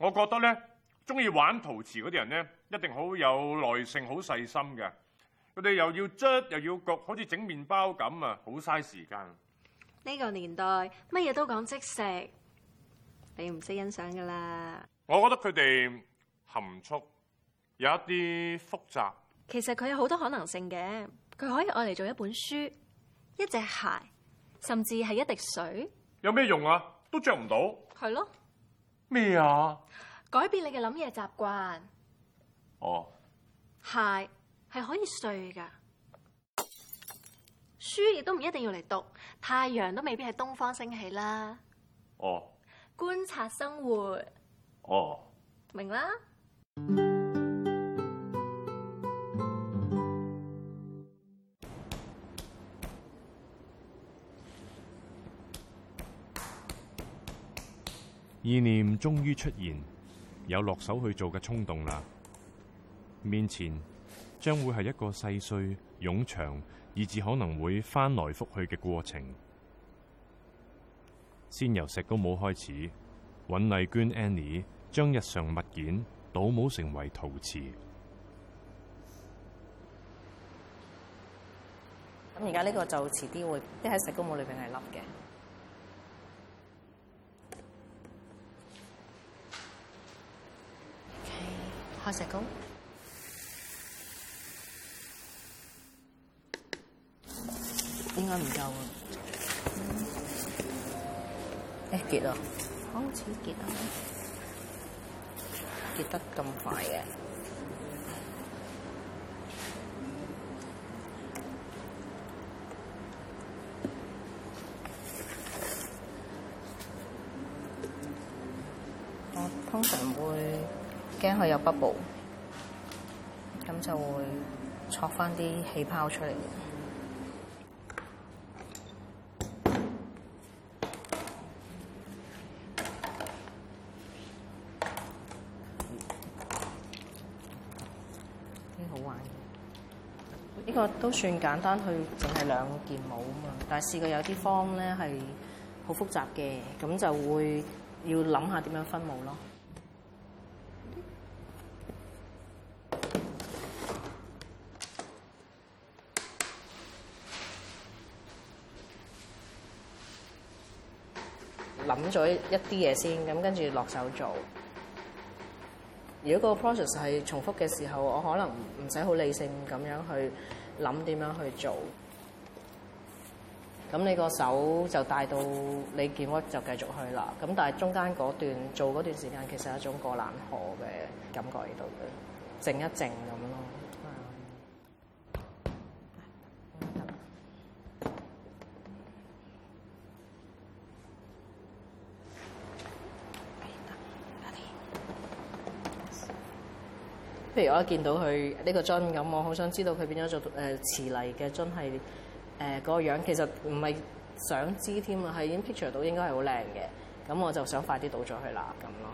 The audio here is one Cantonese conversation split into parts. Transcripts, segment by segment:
我覺得咧，中意玩陶瓷嗰啲人咧，一定好有耐性、好細心嘅。佢哋又要捽又要焗，好似整麵包咁啊，好嘥時間。 呢個年代乜嘢都講即食，你唔識欣賞噶啦。 我覺得佢哋含蓄，有一啲複雜。 其實佢有好多可能性嘅，佢可以愛嚟做一本書、一隻鞋，甚至係一滴水。 有咩用啊？都着唔到。 係咯。 咩啊？ 改變你嘅諗嘢習慣。 哦。 鞋係可以碎㗎，書亦都唔一定要嚟讀，太陽都未必係東方升起啦。 哦。 觀察生活。 哦。 明啦。 意念終於出現，有落手去做嘅衝動啦。面前將會係一個細碎、冗長，以至可能會翻來覆去嘅過程。先由石膏模開始，尹麗娟 Annie 將日常物件倒模成為陶瓷。 咁而家呢個就遲啲會，即喺石膏模裏邊係凹嘅。開石膏，應該唔夠啊！結啊，好似結啊，結得咁快嘅。我通常會驚佢有 bubble， 咁就會戳翻啲氣泡出嚟。幾好玩嘅，呢個都算簡單，佢淨係2件模啊嘛。但係試過有啲 form 咧係好複雜嘅，咁就會要諗下點樣分模咯。諗咗一啲嘢先，咁跟住落手做。如果個 process 係重複嘅時候，我可能唔使好理性咁樣去諗點樣去做。咁你個手就帶到你件 work 就繼續去啦。咁但係中間嗰段做嗰段時間，其實係一種過冷河嘅感覺喺度嘅，靜一靜咁咯。譬如我一見到佢呢個樽咁，我好想知道佢變咗做瓷泥嘅樽係嗰個樣，其實唔係想知添啊，係已經 picture 到應該係好靚嘅，咁我就想快啲倒咗去啦咁咯。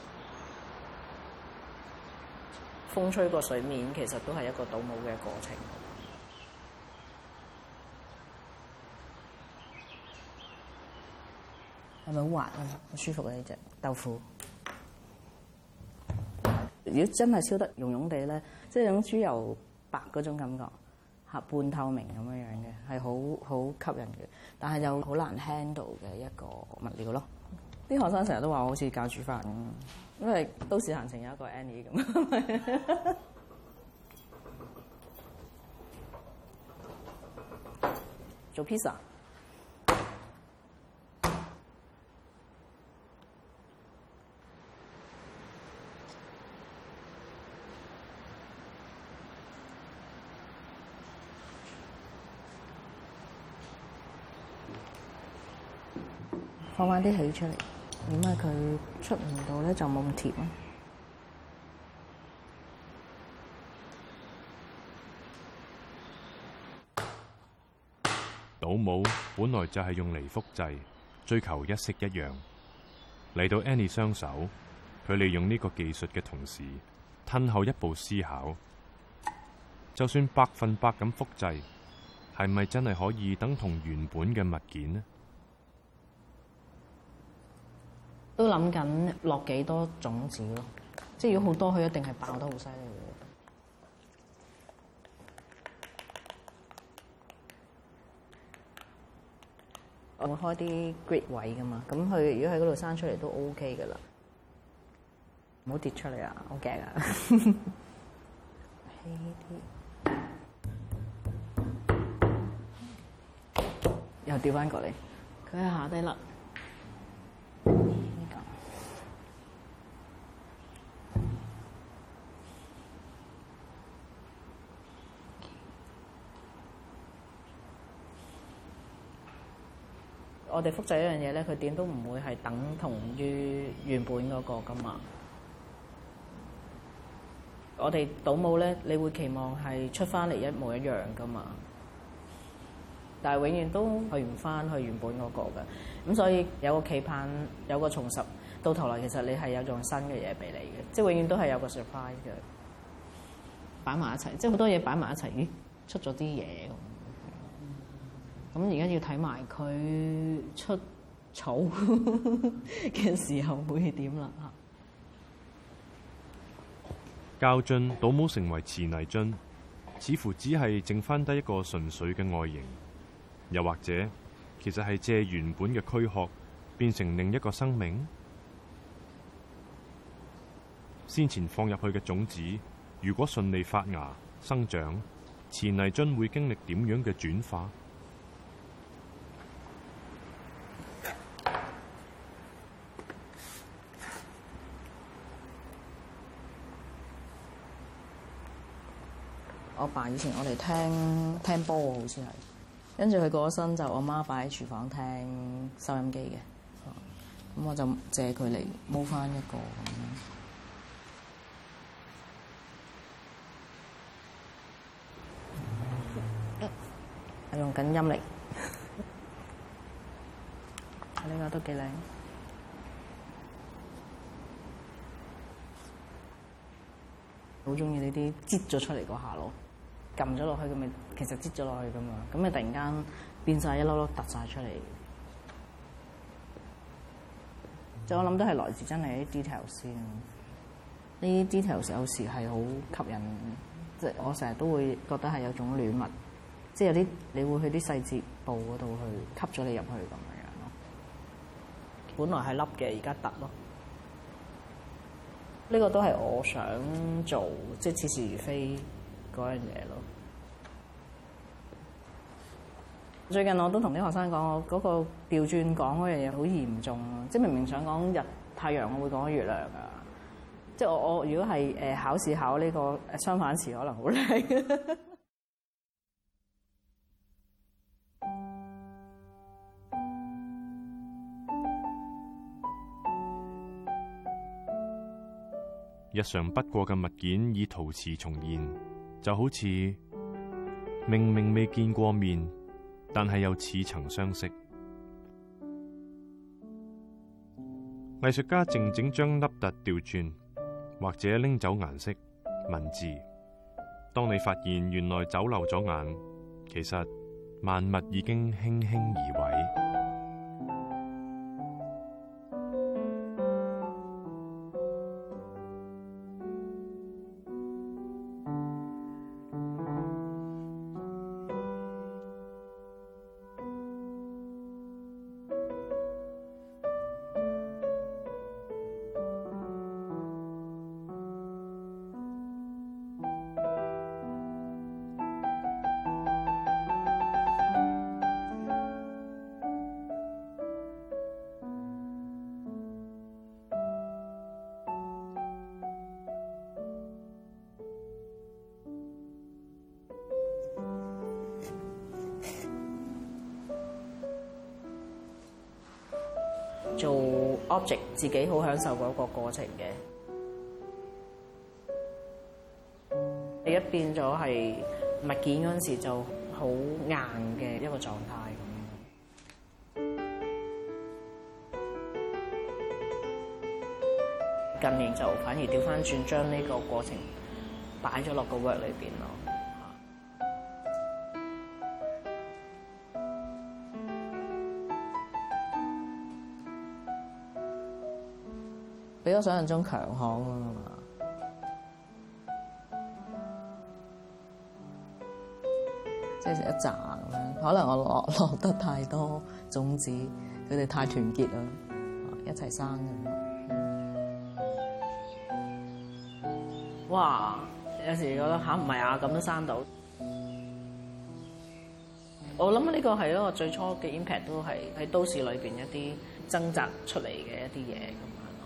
風吹過水面，其實都係一個倒模嘅過程。係咪好滑啊？好舒服啊！呢隻豆腐。如果真係燒得溶溶地咧，即係種豬油白嗰種感覺，半透明咁樣樣嘅，係好吸引嘅。但係又好難 handle 嘅一個物料咯。啲學生成日都話我好似教煮飯咁，因為都市閒情有一個 Annie 咁。做 pizza。放翻啲氣出嚟，點解佢出唔到咧？就冇咁甜。 倒模本來就係用嚟複製，追求一式一樣。嚟到 Annie 雙手，佢利用呢個技術嘅同時，褪後一步思考，就算100%咁複製，係咪真係可以等同原本嘅物件呢？ 都諗緊落幾多種子咯，即係如果好多，佢一定係爆得好犀利嘅。我會開啲 grid 位噶嘛，咁佢如果喺嗰度生出嚟都 OK 噶啦，唔好跌出嚟啊！好驚啊！輕啲，又掉翻過嚟，佢喺下低啦。我哋複製一樣嘢咧，佢點都唔會係等同於原本嗰個噶嘛。我哋倒模咧，你會期望係出翻嚟一模一樣噶嘛，但係永遠都去唔翻去原本嗰個嘅。咁所以有個期盼，有個重拾，到頭來其實你係有種新嘅嘢俾你嘅，即係永遠都係有個 surprise 嘅。擺埋一齊，即係好多嘢擺埋一齊，咦，出咗啲嘢咁。咁而家要睇埋佢出草嘅時候會點啦嚇。 膠樽倒模成為瓷泥樽，似乎只係剩翻低一個純粹嘅外形，又或者其實係借原本嘅軀殼變成另一個生命。先前放入去嘅種子，如果順利發芽生長，瓷泥樽會經歷點樣嘅轉化？ 我爸以前我哋聽波好似係，跟住佢過咗身就我媽擺喺廚房聽收音機嘅，咁我就借佢嚟摸翻一個咁樣。我用緊陰力，呢個都幾靚。好中意呢啲擠咗出嚟嗰下咯，撳咗落去咁咪其實擠咗落去噶嘛，咁咪突然間變晒一粒粒突晒出嚟。即係我諗都係來自真係啲 detail 先，呢啲 detail 有時係好吸引，即係我成日都會覺得係有種戀物，即係有啲你會去啲細節部嗰度去吸咗你入去咁樣咯。本來係凹嘅，而家突咯。呢個都係我想做，即係似是而非嗰樣嘢咯。最近我都同啲學生講，我嗰個調轉講嗰樣嘢好嚴重咯，即係明明想講日太陽，我會講月亮啊。即係我如果係考試考呢個相反詞，可能好叻。 日常不過嘅物件以陶瓷重現，就好似明明未見過面，但係又似曾相識。藝術家靜靜將凹凸調轉，或者拎走顏色、文字。當你發現原來走漏咗眼，其實萬物已經輕輕移位。 做 object 自己好享受嗰個過程嘅，你一變咗係物件嗰陣時就好硬嘅一個狀態咁。近年就反而調翻轉，將呢個過程擺咗落個 work 裏邊咯。 比我想象中強悍啊嘛。即係一紮咁樣，可能我落得太多種子，佢哋太團結啦，一齊生咁。哇！有時覺得嚇唔係啊，咁都生到。我諗呢個係一個最初嘅 impact，都係喺都市裏邊一啲掙扎出嚟嘅一啲嘢咁樣咯。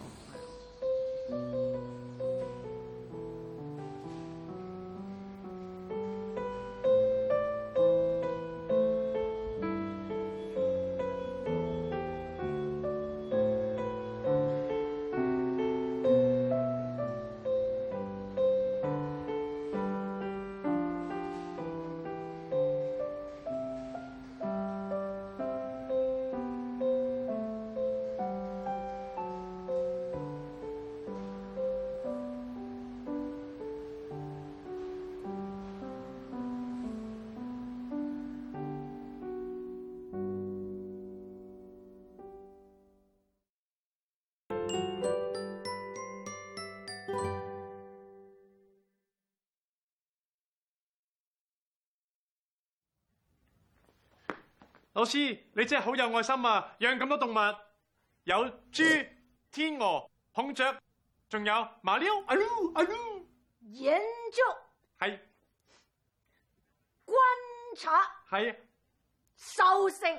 老師，你真係好有愛心啊！養咁多動物，有豬、天鵝、孔雀，仲有馬騮。啊嚕啊嚕， 研究係觀察係獸性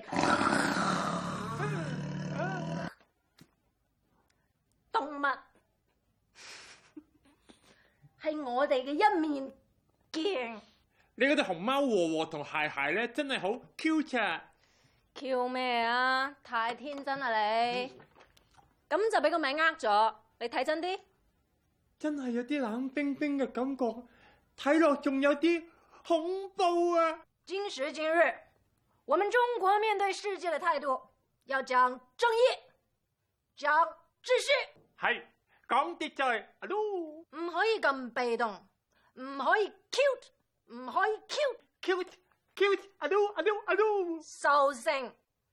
動物係我哋嘅一面鏡。 你嗰隻熊貓和和同鞋鞋咧，真係好 cute 啊！ Q 咩啊？太天真啦你！咁就俾個名呃咗，你睇真啲。 真係有啲冷冰冰嘅感覺，睇落仲有啲恐怖啊！ 今時今日，我們中國面對世界的態度，要講正義，講秩序， 係講秩序。啊嚕， 唔可以咁被動，唔可以 cute，唔可以 cute。啊嚕啊嚕啊嚕， 獸性。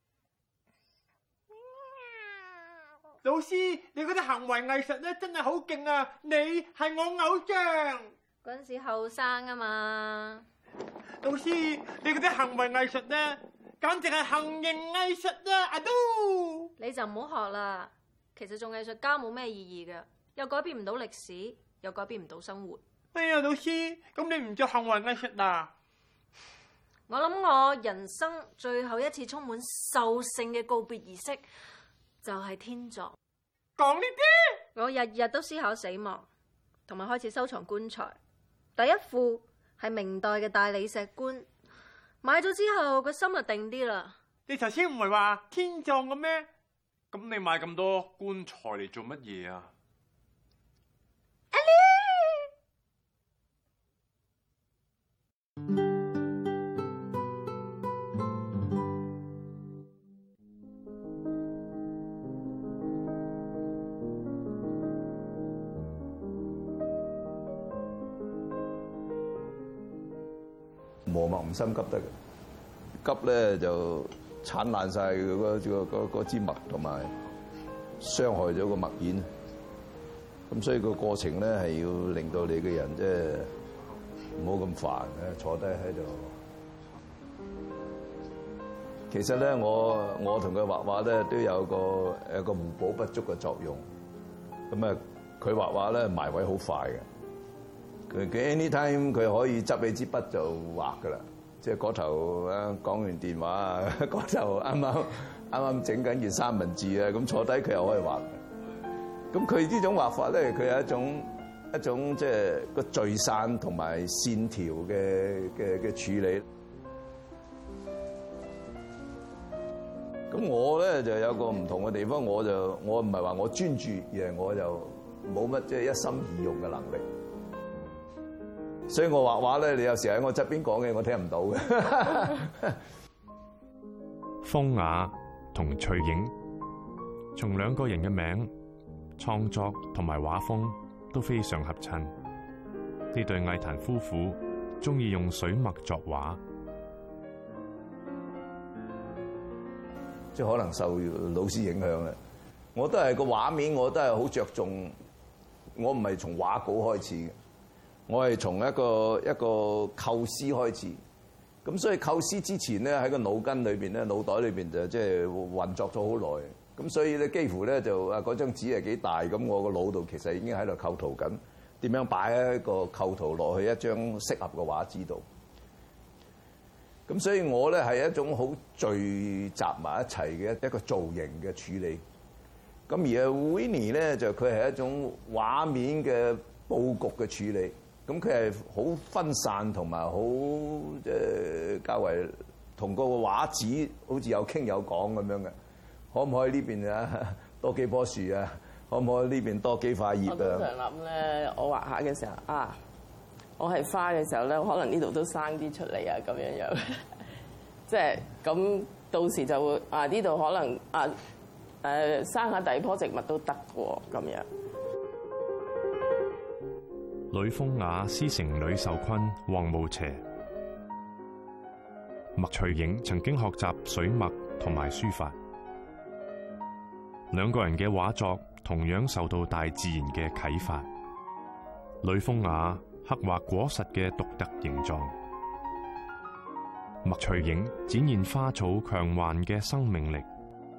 老師，你嗰啲行為藝術咧真係好勁啊！你係我偶像。 嗰陣時後生啊嘛。 老師，你嗰啲行為藝術咧，簡直係行刑藝術啊！啊嚕， 你就唔好學啦。其實做藝術家冇咩意義嘅，又改變唔到歷史，又改變唔到生活。 哎呀，老師，咁你唔做行為藝術啊？ 我諗我人生最後一次充滿獸性嘅告別儀式，就係天葬。 講呢啲， 我日日都思考死亡，同埋開始收藏棺材。第一副係明代嘅大理石棺，買咗之後個心就定啲啦。 你頭先唔係話天葬嘅咩？咁你買咁多棺材嚟做乜嘢啊？ 磨墨唔心急得嘅，急咧就剷爛晒嗰支墨，同埋傷害咗個墨硯。咁所以個過程咧係要令到你嘅人即係唔好咁煩咧，坐低喺度。其實咧，我同佢畫畫咧都有個互補不足嘅作用。咁啊，佢畫畫咧埋位好快嘅。佢 anytime 佢可以執起支筆就畫噶啦，即係嗰頭啊講完電話啊，嗰頭啱啱整緊件三文治啊，咁坐低佢又可以畫。咁佢呢種畫法咧，佢有一種即係個聚散同埋線條嘅處理。咁我咧就有個唔同嘅地方，我唔係話我專注，而係我就冇乜即係一心二用嘅能力。所以我畫畫咧，你有時喺我側邊講嘅，我聽唔到嘅。 風雅同翠影，從兩個人嘅名、創作同埋畫風都非常合襯。呢對藝壇夫婦中意用水墨作畫， 即係可能受老師影響啦。 我都係個畫面，我都係好着重。我唔係從畫稿開始嘅，我係從一個構思開始。咁所以構思之前咧，喺個腦筋裏邊咧，腦袋裏邊就即係運作咗好耐。咁所以咧，幾乎咧就嗰張紙係幾大，咁我個腦度其實已經喺度構圖緊，點樣擺一個構圖落去一張適合嘅畫紙度。咁所以我咧係一種好聚集埋一齊嘅一個造型嘅處理。咁而 Winnie 咧就佢係一種畫面嘅佈局嘅處理。咁佢係好分散同埋好較為同個畫紙好似有傾有講咁樣嘅。可唔可以呢邊啊多幾棵樹啊？可唔可以呢邊多幾塊葉啊？ 我通常諗咧，我畫下嘅時候啊，我係花嘅時候咧，可能呢度都生啲出嚟啊，咁樣樣。即係咁，到時就會啊呢度可能啊生下第二棵植物都得喎，咁樣。 呂風雅師承呂壽坤、黃慕邪。麥翠影曾經學習水墨同埋書法，兩個人嘅畫作同樣受到大自然嘅啟發。呂風雅刻畫果實嘅獨特形狀，麥翠影展現花草強橫嘅生命力。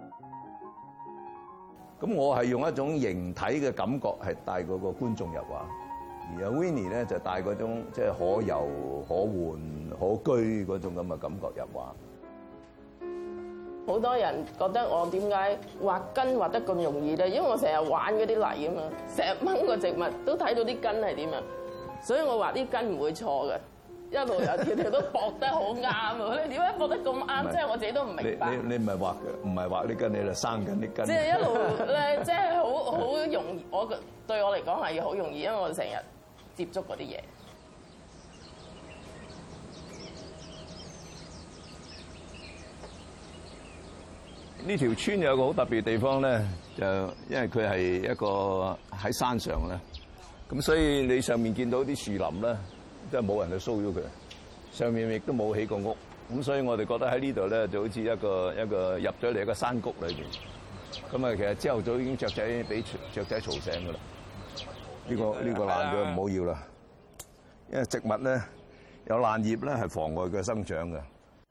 咁我係用一種形體嘅感覺係帶嗰個觀眾入畫。而阿 Winnie 咧就帶嗰種即係可遊可玩可居嗰種咁嘅感覺入畫。 好多人覺得我點解畫根畫得咁容易咧？因為我成日玩嗰啲泥啊嘛，成日掹個植物都睇到啲根係點啊，所以我畫啲根唔會錯嘅，一路有條條都駁得好啱啊！你點解駁得咁啱？即係我自己都唔明白。 你唔係畫嘅，唔係畫啲根，你就生緊啲根。 即係一路咧，即係好容易。對我嚟講係好容易，因為我成日接觸嗰啲嘢。 呢條村有個好特別嘅地方咧，就因為佢係一個喺山上咧，咁所以你上面見到啲樹林咧，即係冇人去騷擾佢，上面亦都冇起過屋，咁所以我哋覺得喺呢度咧就好似一個入咗嚟一個山谷裏邊。咁啊，其實朝頭早已經雀仔俾雀仔嘈醒㗎啦。呢個爛咗唔好要啦，因為植物咧有爛葉咧係妨礙佢生長嘅。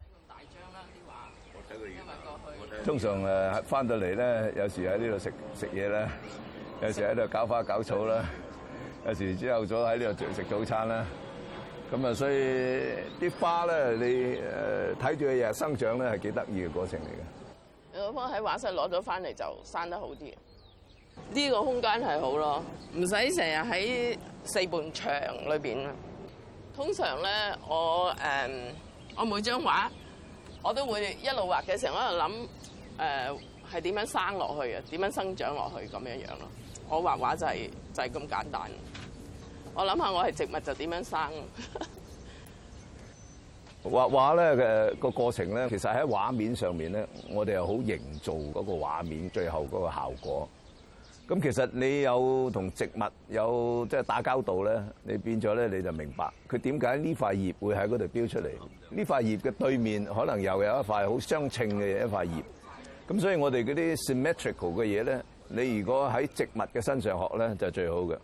通常翻到嚟咧，有時喺呢度食嘢啦，有時喺度搞花搞草啦，有時朝頭早喺呢度食早餐啦。咁啊，所以啲花咧，你睇住佢日日生長咧，係幾得意嘅過程嚟嘅。 我幫喺畫室攞咗翻嚟就生得好啲。呢個空間係好咯，唔使成日喺四面牆裏邊。通常咧，我每張畫我都會一路畫嘅時候，我喺度諗。係點樣生落去啊？點樣生長落去咁樣樣咯？我畫畫就係咁簡單。我諗下，我係植物就點樣生？ 畫畫咧嘅個過程咧，其實喺畫面上面咧，我哋係好營造嗰個畫面最後嗰個效果。咁其實你有同植物有即係打交道咧，你變咗咧你就明白佢點解呢塊葉會喺嗰度標出嚟。呢塊葉嘅對面可能又有一塊好相稱嘅一塊葉。咁所以我哋嗰啲 symmetrical 嘅嘢咧，你如果喺植物嘅身上學咧，就最好嘅。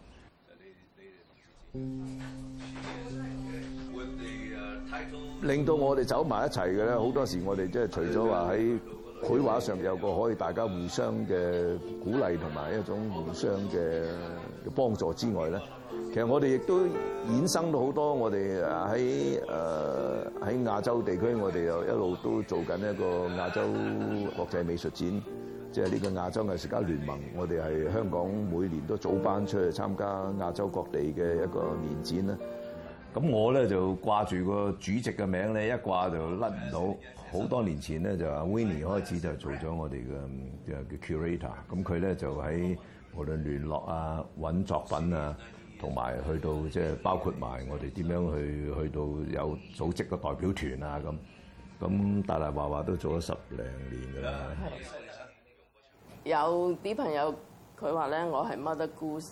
令到我哋走埋一齊嘅咧，好多時我哋即係除咗話喺繪畫上有個可以大家互相嘅鼓勵同埋一種互相嘅幫助之外咧，其實我哋亦都衍生到好多我哋喺亞洲地區，我哋又一路都做緊一個亞洲國際美術展，即係呢個亞洲藝術家聯盟。我哋係香港每年都組班出去參加亞洲各地嘅一個年展啦。咁我咧就掛住個主席嘅名咧，一掛就甩唔到。好多年前咧就阿 Winnie 開始就做咗我哋嘅 curator。咁佢咧就喺無論聯絡啊、揾作品啊，同埋去到即係包括埋我哋點樣去到有組織個代表團啊咁大大話話都做咗10零年㗎啦。 有啲朋友佢話咧，我係 Mother Goose。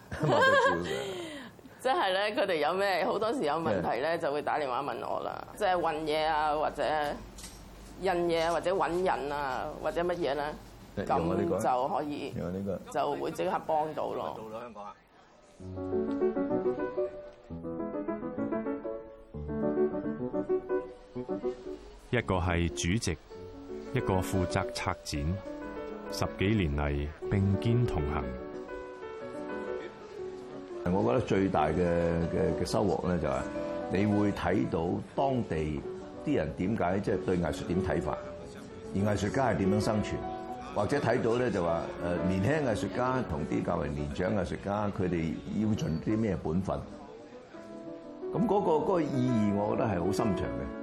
即係咧，佢哋有咩好多時有問題咧，就會打電話問我啦。即係運嘢啊，或者印嘢啊，或者揾人啊，或者乜嘢啦。 用我呢個咁就可以用我呢個就會即刻幫到咯。 到香港啊！ 一個係主席，一個負責策展，10幾年嚟並肩同行。 我覺得最大嘅收穫咧，就係你會睇到當地啲人點解即係對藝術點睇法，而藝術家係點樣生存，或者睇到咧就話年輕藝術家同啲較為年長藝術家，佢哋要盡啲咩本分。咁嗰個意義，我覺得係好深長嘅。